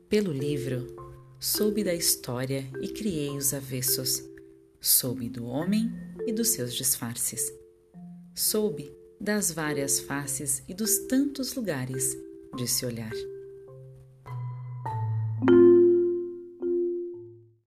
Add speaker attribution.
Speaker 1: Pelo livro, soube da história e criei os avessos. Soube do homem e dos seus disfarces. Soube das várias faces e dos tantos lugares de se olhar.